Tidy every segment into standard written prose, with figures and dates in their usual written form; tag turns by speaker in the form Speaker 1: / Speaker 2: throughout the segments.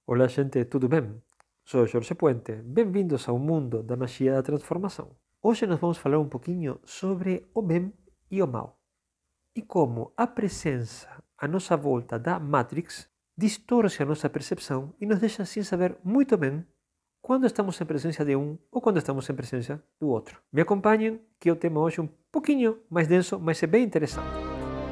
Speaker 1: Olá, gente, tudo bem? Sou Jorge Puente. Bem-vindos ao mundo da magia da transformação. Hoje nós vamos falar um pouquinho sobre o bem e o mal e como a presença à nossa volta da Matrix distorce a nossa percepção e nos deixa sem saber muito bem quando estamos em presença de um ou quando estamos em presença do outro. Me acompanhem que o tema hoje é um pouquinho mais denso, mas é bem interessante.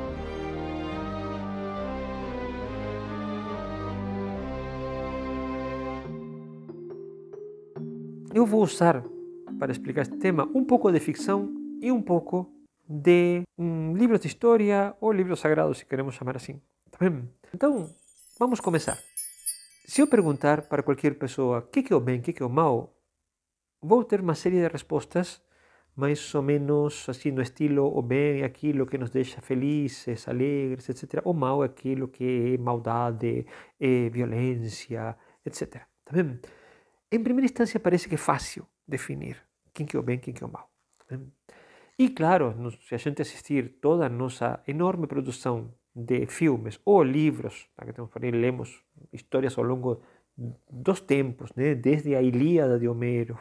Speaker 1: Eu vou usar, para explicar este tema, um pouco de ficção e um pouco de livros de história ou livros sagrados, se queremos chamar assim. Tá bem? Então, vamos começar. Se eu perguntar para qualquer pessoa o que é o bem, o que é o mal, vou ter uma série de respostas mais ou menos assim no estilo: o bem é aquilo que nos deixa felizes, alegres, etc. O mal é aquilo que é maldade, é violência, etc. Tá bem? Em primeira instância parece que é fácil definir quem que é o bem, quem que é o mal. E claro, se a gente assistir toda a nossa enorme produção de filmes ou livros, que temos por aí, lemos histórias ao longo dos tempos, né? Desde a Ilíada de Homero,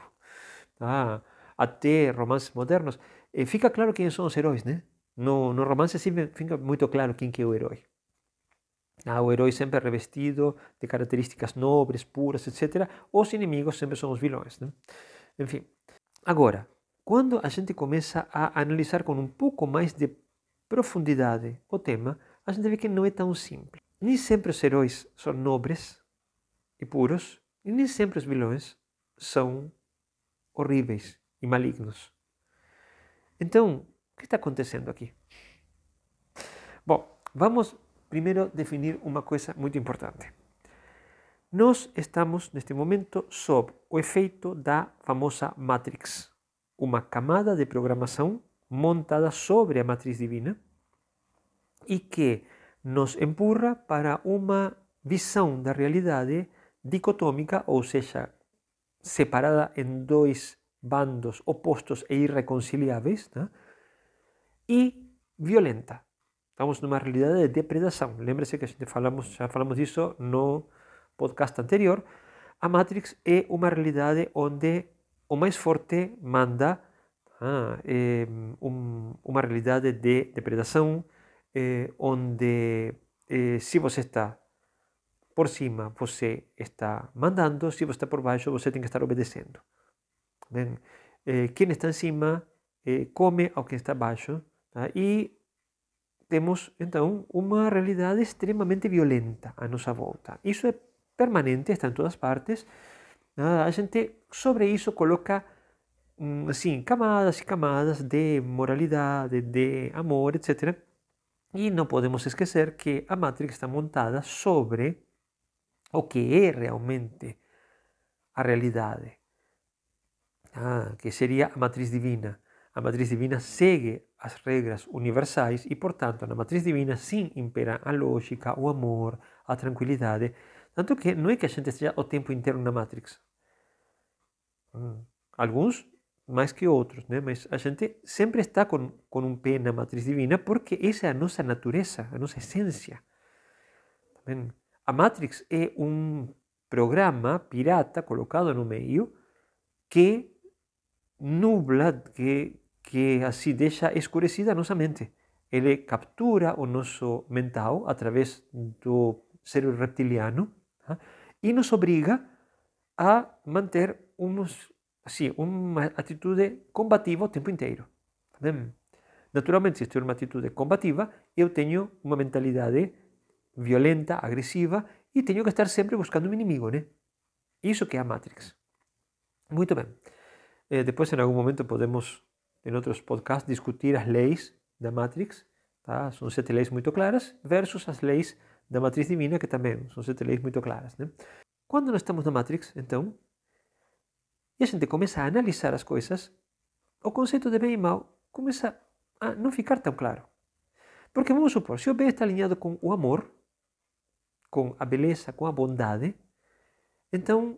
Speaker 1: até romances modernos, fica claro quem são os heróis, né? No romance sempre fica muito claro quem que é o herói. O herói sempre revestido de características nobres, puras, etc. Os inimigos sempre são os vilões, né? Enfim, agora, quando a gente começa a analisar com um pouco mais de profundidade o tema, a gente vê que não é tão simples. Nem sempre os heróis são nobres e puros, e nem sempre os vilões são horríveis e malignos. Então, o que está acontecendo aqui? Bom, vamos primeiro definir uma coisa muito importante. Nós estamos neste momento sob o efeito da famosa Matrix, uma camada de programação montada sobre a matriz divina e que nos empurra para uma visão da realidade dicotômica, ou seja, separada em dois bandos opostos e irreconciliáveis, né? E violenta. Estamos numa realidade de depredação. Lembre-se que já falamos disso no podcast anterior. A Matrix é uma realidade onde o mais forte manda, uma realidade de depredação, onde se você está por cima, você está mandando, se você está por baixo, você tem que estar obedecendo. Bem, quem está em cima come ao que está abaixo, e temos então uma realidade extremamente violenta à nossa volta. Isso é permanente, está em todas partes. A gente sobre isso coloca assim, camadas e camadas de moralidade, de amor, etc. E não podemos esquecer que a Matrix está montada sobre o que é realmente a realidade, que seria a matriz divina. A matriz divina segue as regras universais e, portanto, na matriz divina sim impera a lógica, o amor, a tranquilidade. Tanto que não é que a gente esteja o tempo inteiro na Matrix. Alguns mais que outros, né? Mas a gente sempre está com um pé na matriz divina porque essa é a nossa natureza, a nossa essência. A Matrix é um programa pirata colocado no meio que nubla, que assim deixa escurecida a nossa mente. Ele captura o nosso mental através do cérebro reptiliano, e nos obriga a manter uma atitude combativa o tempo inteiro. Naturalmente, se estou numa atitude combativa, eu tenho uma mentalidade violenta, agressiva, e tenho que estar sempre buscando um inimigo, né? Isso que é a Matrix. Muito bem. Depois, em algum momento, podemos, em outros podcasts, discutir as leis da Matrix. Tá? São 7 leis muito claras versus as leis da matriz divina, que também são 7 leis muito claras. Né? Quando nós estamos na Matrix, então, e a gente começa a analisar as coisas, o conceito de bem e mal começa a não ficar tão claro. Porque vamos supor, se o bem está alinhado com o amor, com a beleza, com a bondade, então,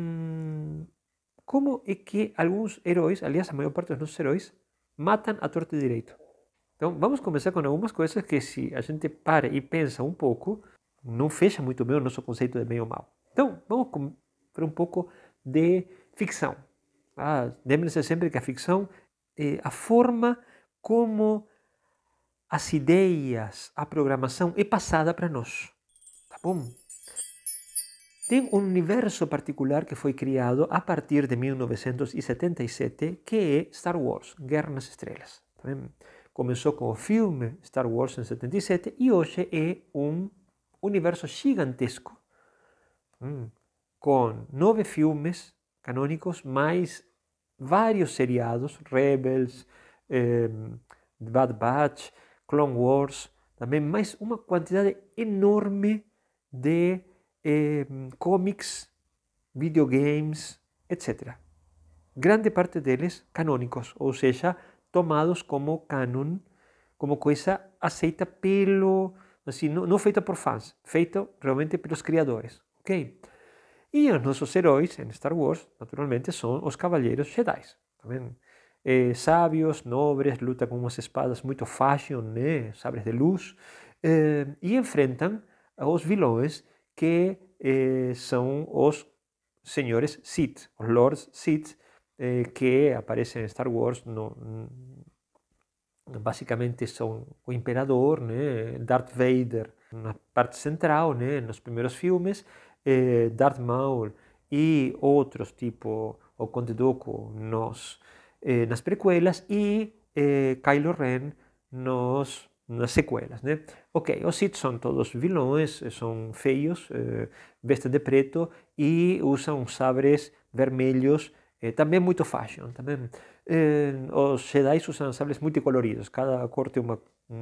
Speaker 1: como é que alguns heróis, aliás, a maior parte dos nossos heróis, matam a torto e direito? Então, vamos começar com algumas coisas que, se a gente para e pensa um pouco, não fecha muito bem o nosso conceito de bem ou mal. Então, vamos para um pouco de ficção. Lembre-se sempre que a ficção é a forma como as ideias, a programação é passada para nós. Tá bom? Tem um universo particular que foi criado a partir de 1977, que é Star Wars, Guerra nas Estrelas. Tá vendo? Começou com o filme Star Wars em 77 e hoje é um universo gigantesco, com 9 filmes canônicos, mais vários seriados, Rebels, Bad Batch, Clone Wars, também mais uma quantidade enorme de cómics, videogames, etc. Grande parte deles canônicos, ou seja, tomados como canon, como coisa aceita pelo, assim, não feita por fãs, feita realmente pelos criadores, ok? E os nossos heróis em Star Wars, naturalmente, são os Cavaleiros Jedi, tá vendo? Sábios, nobres, lutam com umas espadas muito fashion, né? Sabres de luz, e enfrentam os vilões que são os senhores Sith, os Lords Sith, que aparecem em Star Wars. Basicamente são o Imperador, né? Darth Vader na parte central, né? Nos primeiros filmes, Darth Maul e outros tipo o Conde Dooku nas prequelas e Kylo Ren nas sequelas, né? Ok, os Sith são todos vilões, são feios, vestem de preto e usam sabres vermelhos, também muito fashion, também. Os Jedi usam sabres multicoloridos, cada cor tem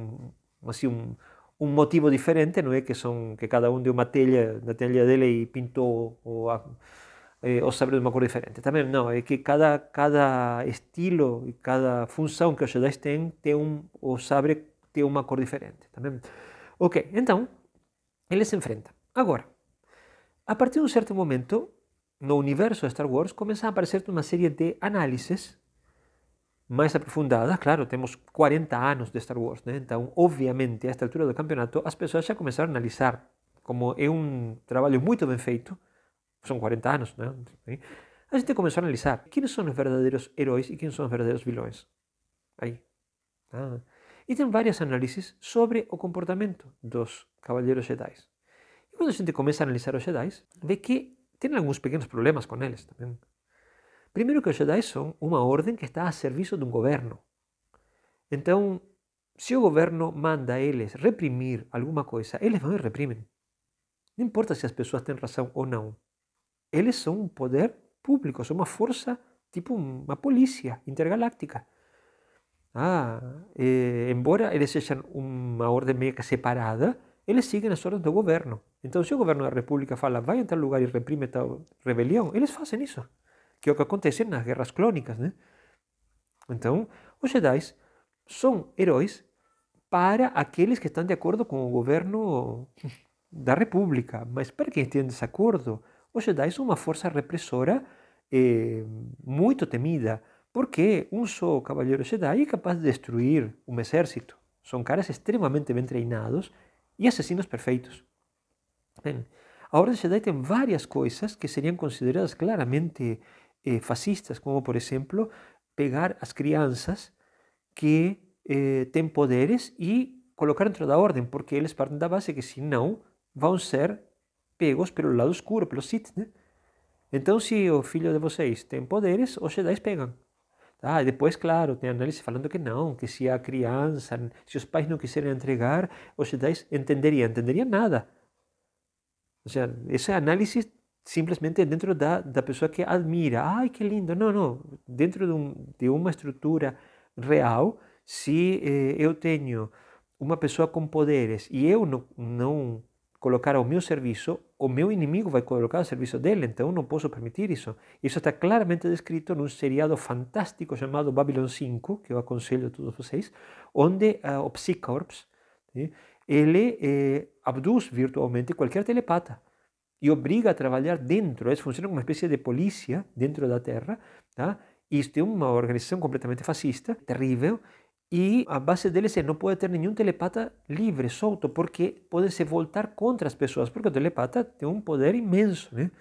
Speaker 1: um motivo diferente, não é? Que cada um deu uma telha, da telha dele e pintou o sabre de uma cor diferente. Também não, é que cada estilo e cada função que os Jedi têm, o sabre tem uma cor diferente. Também. Ok, então, eles se enfrentam. Agora, a partir de um certo momento, no universo de Star Wars, começam a aparecer uma série de análises mais aprofundadas. Claro, temos 40 anos de Star Wars, né? Então, obviamente, a esta altura do campeonato, as pessoas já começaram a analisar. Como é um trabalho muito bem feito, são 40 anos, né? A gente começou a analisar quem são os verdadeiros heróis e quem são os verdadeiros vilões. Aí. E tem várias análises sobre o comportamento dos Cavaleiros Jedi. E quando a gente começa a analisar os Jedi, vê que tem alguns pequenos problemas com eles também. Primeiro que os Jedi são uma ordem que está a serviço de um governo. Então, se o governo manda eles reprimir alguma coisa, eles vão e reprimem. Não importa se as pessoas têm razão ou não. Eles são um poder público, são uma força, tipo uma polícia intergaláctica. Embora eles sejam uma ordem meio que separada, eles seguem as ordens do governo. Então, se o governo da república fala, vai em tal lugar e reprime tal rebelião, eles fazem isso. Que é o que acontece nas guerras clônicas, né? Então, os Jedi são heróis para aqueles que estão de acordo com o governo da república. Mas para quem tem desacordo, os Jedi são uma força repressora muito temida, porque um só cavaleiro Jedi é capaz de destruir um exército. São caras extremamente bem treinados e assassinos perfeitos. Bem, a Ordem Jedi tem várias coisas que seriam consideradas claramente fascistas, como, por exemplo, pegar as crianças que têm poderes e colocar dentro da ordem, porque eles partem da base que, senão, vão ser pegos pelo lado escuro, pelo Sith, né? Então, se o filho de vocês tem poderes, os Jedi pegam. E depois, claro, tem análise falando que não, que se a criança, se os pais não quiserem entregar, os Jedi entenderiam nada. Ou seja, essa análise simplesmente dentro da pessoa que admira. Ai, que lindo. Não, não. Dentro de uma estrutura real, se eu tenho uma pessoa com poderes e eu não colocar ao meu serviço, o meu inimigo vai colocar ao serviço dele, então não posso permitir isso. Isso está claramente descrito num seriado fantástico chamado Babylon 5, que eu aconselho a todos vocês, onde o Psycorps, ele abduz virtualmente qualquer telepata e obriga a trabalhar dentro. Eles funcionam como uma espécie de polícia dentro da Terra, tá? Isto é uma organização completamente fascista, terrível, e a base deles é não pode ter nenhum telepata livre, solto, porque pode se voltar contra as pessoas, porque o telepata tem um poder imenso, né?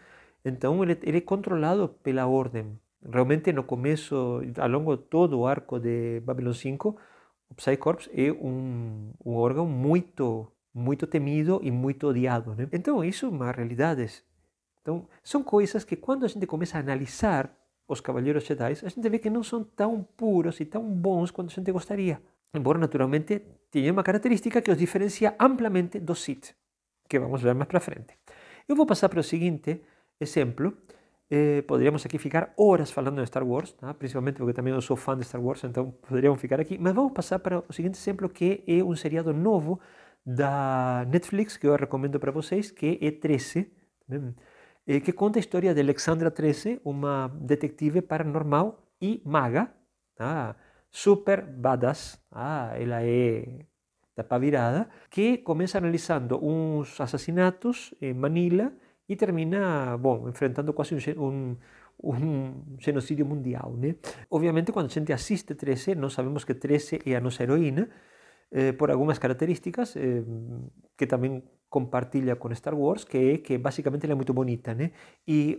Speaker 1: Então ele é controlado pela ordem. Realmente no começo, ao longo de todo o arco de Babylon 5, o Psycorps é um órgão muito temido e muito odiado, né? Então isso é uma realidade. Então são coisas que quando a gente começa a analisar os Cavaleiros Jedi, a gente vê que não são tão puros e tão bons quanto a gente gostaria. Embora naturalmente tenha uma característica que os diferencia amplamente dos Sith, que vamos ver mais para frente. Eu vou passar para o seguinte exemplo. Poderíamos aqui ficar horas falando de Star Wars, tá? Principalmente porque também eu sou fã de Star Wars, então poderíamos ficar aqui. Mas vamos passar para o seguinte exemplo, que é um seriado novo da Netflix, que eu recomendo para vocês, que é 13, né? Que conta a história de Alexandra 13, uma detetive paranormal e maga, tá? Super badass, ela é tapa virada, que começa analisando uns assassinatos em Manila e termina, bom, enfrentando quase um genocídio mundial, né? Obviamente, quando a gente assiste 13, nós sabemos que 13 é a nossa heroína, por algumas características que também compartilha com Star Wars, que é que basicamente ela é muito bonita, né? E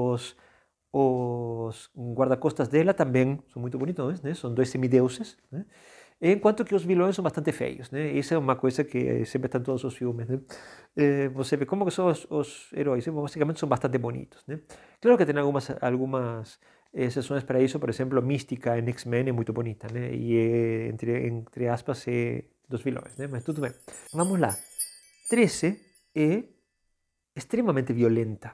Speaker 1: os guarda-costas dela também são muito bonitos, né? São dois semideuses, né? Enquanto que os vilões são bastante feios, né? Isso é uma coisa que sempre está em todos os filmes, né? Você vê como que são os heróis, basicamente são bastante bonitos, né? Claro que tem algumas exceções para isso, por exemplo, Mística em X-Men é muito bonita, né? E é, entre aspas, é dos vilões, né? Mas tudo bem. Vamos lá. 13 é extremamente violenta,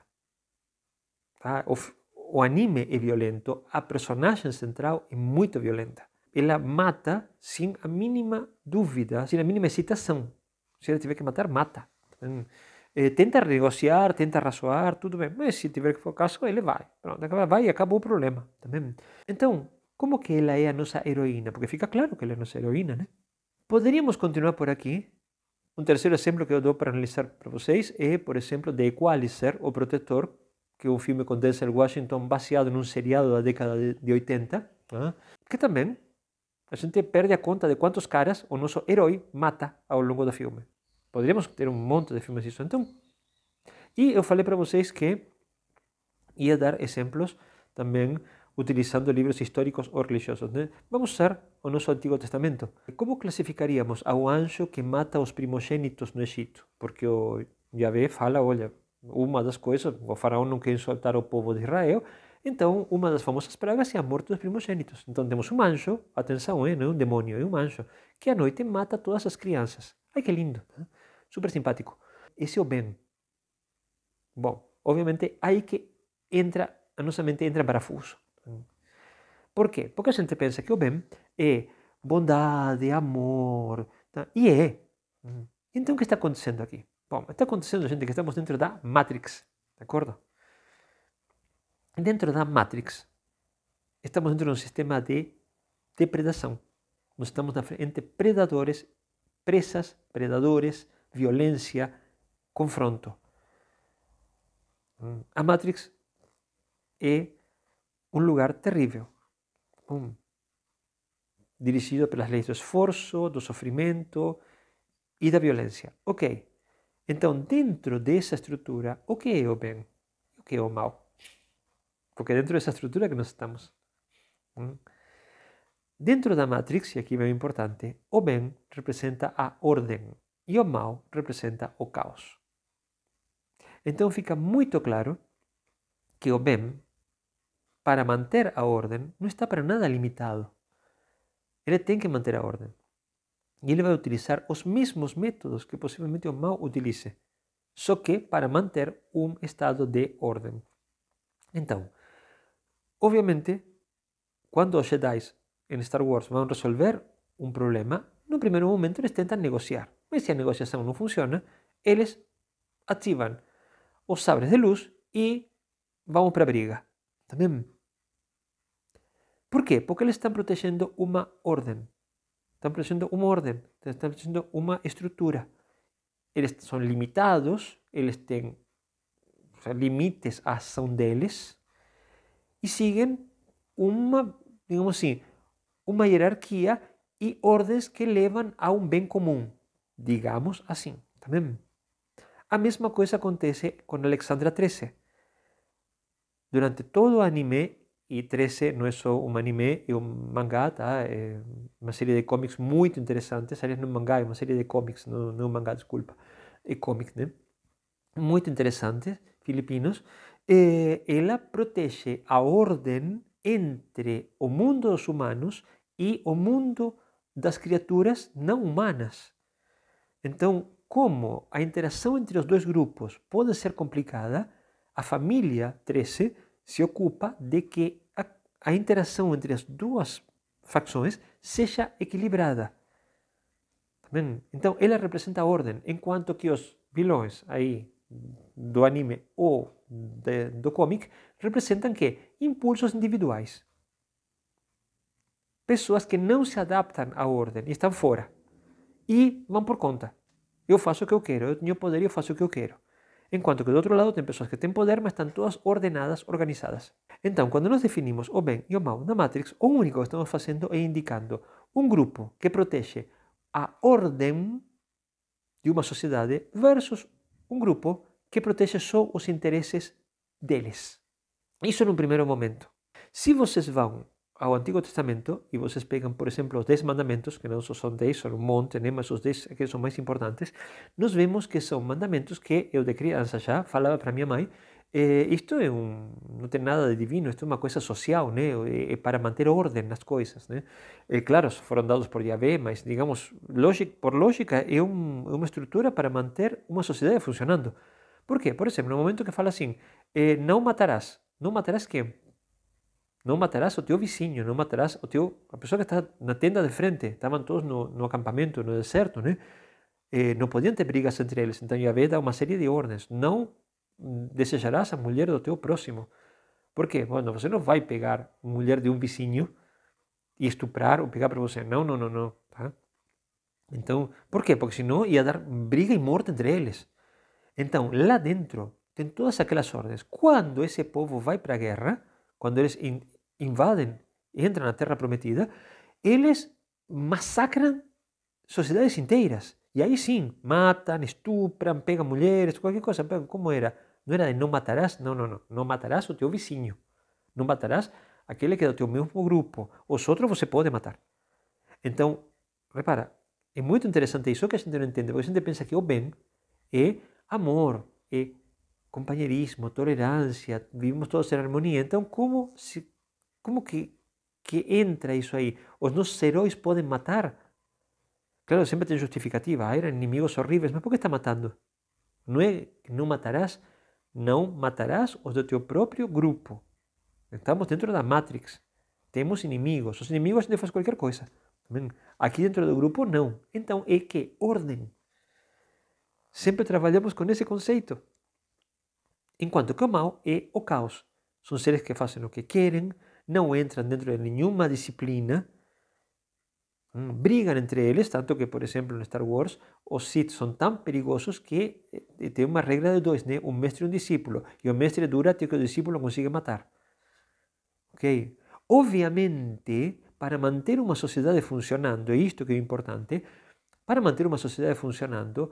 Speaker 1: tá? O anime é violento, a personagem central é muito violenta. Ela mata sem a mínima dúvida, sem a mínima hesitação. Se ela tiver que matar, mata. Tenta negociar, tenta razoar, tudo bem. Mas se tiver que for o caso, ele vai. Pronto, vai e acabou o problema. Também. Então, como que ela é a nossa heroína? Porque fica claro que ela é a nossa heroína, né? Poderíamos continuar por aqui. Um terceiro exemplo que eu dou para analisar para vocês é, por exemplo, The Equalizer, O Protetor, que é um filme com Denzel Washington baseado num seriado da década de 80, que também a gente perde a conta de quantos caras o nosso herói mata ao longo do filme. Poderíamos ter um monte de filmes disso. Então, e eu falei para vocês que ia dar exemplos também utilizando livros históricos ou religiosos, né? Vamos usar o nosso Antigo Testamento. Como classificaríamos ao anjo que mata os primogênitos no Egito? Porque o Yahvé fala, olha, uma das coisas, o faraó não quer soltar o povo de Israel, então uma das famosas pragas é a morte dos primogênitos. Então temos um anjo, atenção, não é um demônio, é um anjo, que à noite mata todas as crianças. Ai que lindo, né? Super simpático. Esse é o bem. Bom, obviamente aí que entra, a nossa mente entra em parafuso. Por quê? Porque a gente pensa que o bem é bondade, amor, tá? E é. Então o que está acontecendo aqui? Bom, está acontecendo, gente, que estamos dentro da Matrix, de acordo? Dentro da Matrix, estamos dentro de um sistema de depredação. Nós estamos na frente entre predadores, presas, predadores, violência, confronto. A Matrix é um lugar terrível, dirigido pelas leis do esforço, do sofrimento e da violência. Ok, então dentro dessa estrutura, o que é o bem? O que é o mal? Porque dentro dessa estrutura que nós estamos. Dentro da Matrix, e aqui é bem importante, o bem representa a ordem e o mal representa o caos. Então fica muito claro que o bem, para manter a ordem, não está para nada limitado. Ele tem que manter a ordem. E ele vai utilizar os mesmos métodos que possivelmente o mal utilize, só que para manter um estado de ordem. Então, obviamente, quando os Jedi em Star Wars vão resolver um problema, no primeiro momento eles tentam negociar. Mas se a negociação não funciona, eles ativam os sabres de luz e vão para a briga. Também. Por quê? Porque eles estão protegendo uma ordem. Estão protegendo uma ordem, estão protegendo uma estrutura. Eles são limitados, eles têm limites à ação deles e seguem uma, digamos assim, uma hierarquia e ordens que levam a um bem comum, digamos assim. Também. A mesma coisa acontece com Alexandra 13. durante todo o anime, e 13 não é só um anime, é um mangá, tá? É uma série de cómics muito interessantes. Aliás, não é um mangá, é uma série de cómics, não é um mangá, desculpa. É cómic, né? Muito interessantes, filipinos. Ela protege a ordem entre o mundo dos humanos e o mundo das criaturas não humanas. Então, como a interação entre os dois grupos pode ser complicada, a família 13 se ocupa de que a interação entre as duas facções seja equilibrada. Tá vendo? Então, ela representa a ordem, enquanto que os vilões aí do anime ou do cómic representam que impulsos individuais. Pessoas que não se adaptam à ordem e estão fora. E vão por conta. Eu faço o que eu quero, eu tenho poder e eu faço o que eu quero. Enquanto que do outro lado tem pessoas que têm poder, mas estão todas ordenadas, organizadas. Então, quando nós definimos o bem e o mal na Matrix, o único que estamos fazendo é indicando um grupo que protege a ordem de uma sociedade versus um grupo que protege só os interesses deles. Isso num primeiro momento. Se vocês vão ao Antigo Testamento e vocês pegam, por exemplo, os 10 mandamentos, que não só são 10, são um monte, né? Mas os 10 que são mais importantes, nós vemos que são mandamentos que eu de criança já falava para minha mãe, isto não tem nada de divino, isto é uma coisa social, né? É para manter ordem nas coisas, né? Claro, foram dados por Yahvé, mas, digamos, por lógica, é uma estrutura para manter uma sociedade funcionando. Por quê? Por exemplo, no momento que fala assim, não matarás. Não matarás quem? Não matarás o teu vizinho, não matarás a pessoa que está na tenda de frente. Estavam todos no acampamento, no deserto, né? Não podiam ter brigas entre eles. Então, Yahvé dá uma série de ordens. Não desejarás a mulher do teu próximo. Por quê? Bueno, você não vai pegar a mulher de um vizinho e estuprar ou pegar para você. Não, não, não, não. Tá? Então, por quê? Porque senão ia dar briga e morte entre eles. Então, lá dentro, tem todas aquelas ordens. Quando esse povo vai para a guerra, quando eles invadem, entram na Terra Prometida, eles massacram sociedades inteiras. E aí sim, matam, estupram, pegam mulheres, qualquer coisa. Como era? Não era de não matarás? Não, não, não. Não matarás o teu vizinho. Não matarás aquele que é do teu mesmo grupo. Os outros você pode matar. Então, repara, é muito interessante isso que a gente não entende, porque a gente pensa que o bem é amor, é companheirismo, tolerância, vivimos todos em harmonia. Então, como que entra isso aí? Os nossos heróis podem matar? Claro, sempre tem justificativa. Eram inimigos horríveis, mas por que está matando? Não é que não matarás os do teu próprio grupo. Estamos dentro da Matrix. Temos inimigos. Os inimigos a gente faz qualquer coisa. Aqui dentro do grupo, não. Então, é que ordem. Sempre trabalhamos com esse conceito. Enquanto que o mal é o caos. São seres que fazem o que querem, não entram dentro de nenhuma disciplina, brigam entre eles, tanto que, por exemplo, no Star Wars, os Sith são tão perigosos que tem uma regra de dois, né? Um mestre e um discípulo. E o mestre dura até que o discípulo consiga matar. Ok? Obviamente, para manter uma sociedade funcionando, e isto que é importante, para manter uma sociedade funcionando,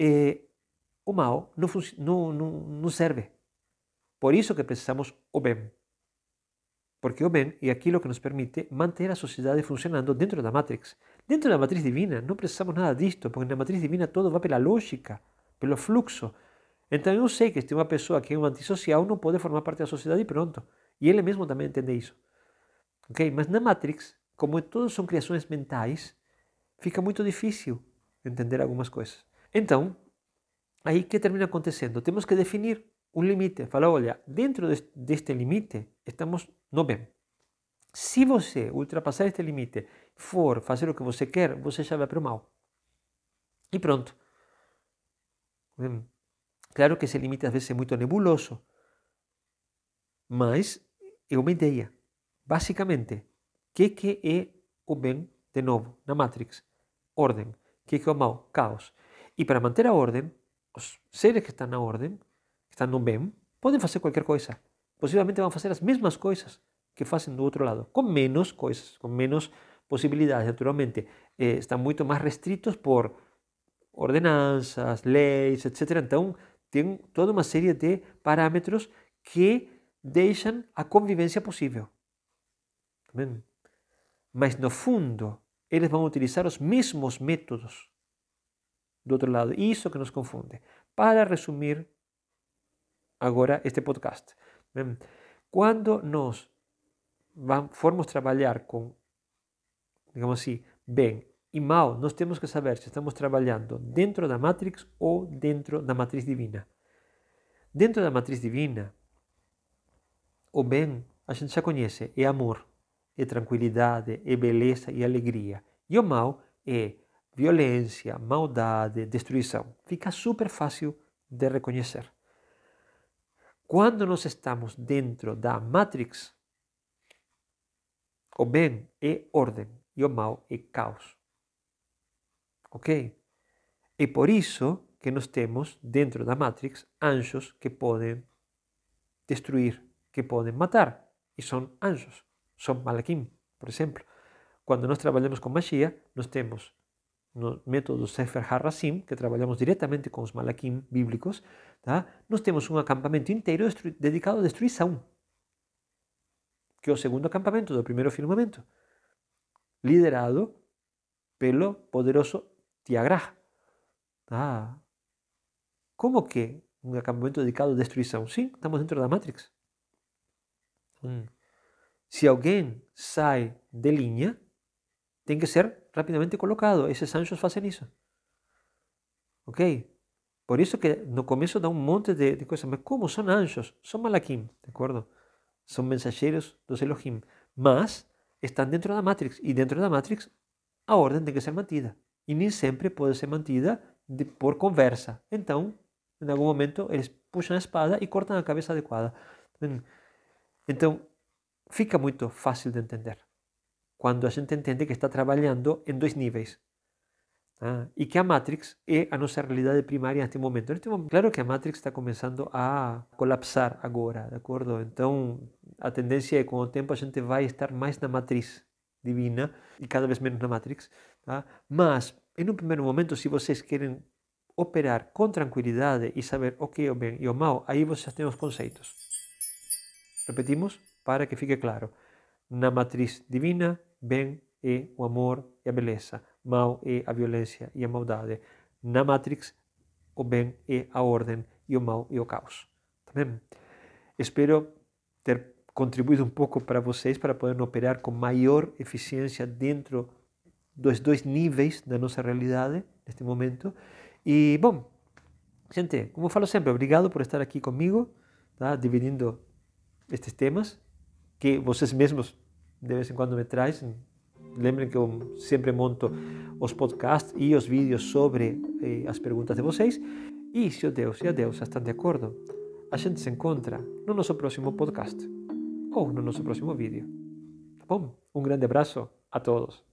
Speaker 1: o mal não serve. Por isso que precisamos o bem. Porque o bem é aquilo que nos permite manter a sociedade funcionando dentro da Matrix. Dentro da matriz divina não precisamos nada disto, porque na matriz divina todo vai pela lógica, pelo fluxo. Então eu sei que se tem uma pessoa que é um antissocial, não pode formar parte da sociedade e pronto. E ele mesmo também entende isso. Ok? Mas na Matrix, como todos são criações mentais, fica muito difícil entender algumas coisas. Então, aí que termina acontecendo? Temos que definir um limite. Falar, olha, dentro deste limite, estamos no bem. Se você ultrapassar este limite, for fazer o que você quer, você já vai para o mal. E pronto. Claro que esse limite às vezes é muito nebuloso, mas é uma ideia. Basicamente, o que é o bem, de novo, na Matrix? Ordem. O que é o mal? Caos. E para manter a ordem, os seres que estão na ordem, que estão no bem, podem fazer qualquer coisa. Possivelmente vão fazer as mesmas coisas que fazem do outro lado, com menos coisas, com menos possibilidades. Naturalmente, estão muito mais restritos por ordenanças, leis, etc. Então, tem toda uma série de parâmetros que deixam a convivência possível. Tá vendo? Mas no fundo, eles vão utilizar os mesmos métodos do outro lado. Isso que nos confunde. Para resumir agora este podcast. Bem, quando nós formos trabalhar com, digamos assim, bem e mal, nós temos que saber se estamos trabalhando dentro da Matrix ou dentro da matriz divina. Dentro da matriz divina, o bem a gente já conhece, é amor, é tranquilidade, é beleza e alegria. E o mal é violência, maldade, destruição. Fica super fácil de reconhecer. Quando nós estamos dentro da Matrix, o bem é ordem e o mal é caos. Ok? É por isso que nós temos dentro da Matrix anjos que podem destruir, que podem matar. E são anjos, são Malakim, por exemplo. Quando nós trabalhamos com magia, nós temos no método Sefer HaRasim, que trabalhamos diretamente com os Malakim bíblicos, tá? Nós temos um acampamento inteiro dedicado à destruição, que é o segundo acampamento do primeiro firmamento, liderado pelo poderoso Tiagrah. Tá? Como que um acampamento dedicado à destruição? Sim, estamos dentro da Matrix. Se alguém sai de linha, tem que ser rapidamente colocado. Esses anjos fazem isso. Ok? Por isso que no começo dá um monte de coisas. Mas como? São anjos. São Malakim, de acordo? São mensageiros dos Elohim. Mas estão dentro da Matrix. E dentro da Matrix, a ordem tem que ser mantida. E nem sempre pode ser mantida por conversa. Então, em algum momento, eles puxam a espada e cortam a cabeça adequada. Então, fica muito fácil de entender quando a gente entende que está trabalhando em dois níveis. E que a Matrix é a nossa realidade primária neste momento. Claro que a Matrix está começando a colapsar agora, de acordo? Então, a tendência é, com o tempo, a gente vai estar mais na matriz divina e cada vez menos na Matrix. Tá? Mas, em um primeiro momento, se vocês querem operar com tranquilidade e saber o que é o bem e o mal, aí vocês já têm os conceitos. Repetimos para que fique claro. Na matriz divina, bem é o amor e a beleza. Mal é a violência e a maldade. Na Matrix, o bem é a ordem e o mal é o caos. Tá bem? Espero ter contribuído um pouco para vocês para poderem operar com maior eficiência dentro dos dois níveis da nossa realidade neste momento. E, bom, gente, como eu falo sempre, obrigado por estar aqui comigo, tá? Dividindo estes temas que vocês mesmos de vez em quando me trazem. Lembrem que eu sempre monto os podcasts e os vídeos sobre as perguntas de vocês. E se o Deus e a Deusa estão de acordo, a gente se encontra no nosso próximo podcast ou no nosso próximo vídeo. Tá bom? Um grande abraço a todos.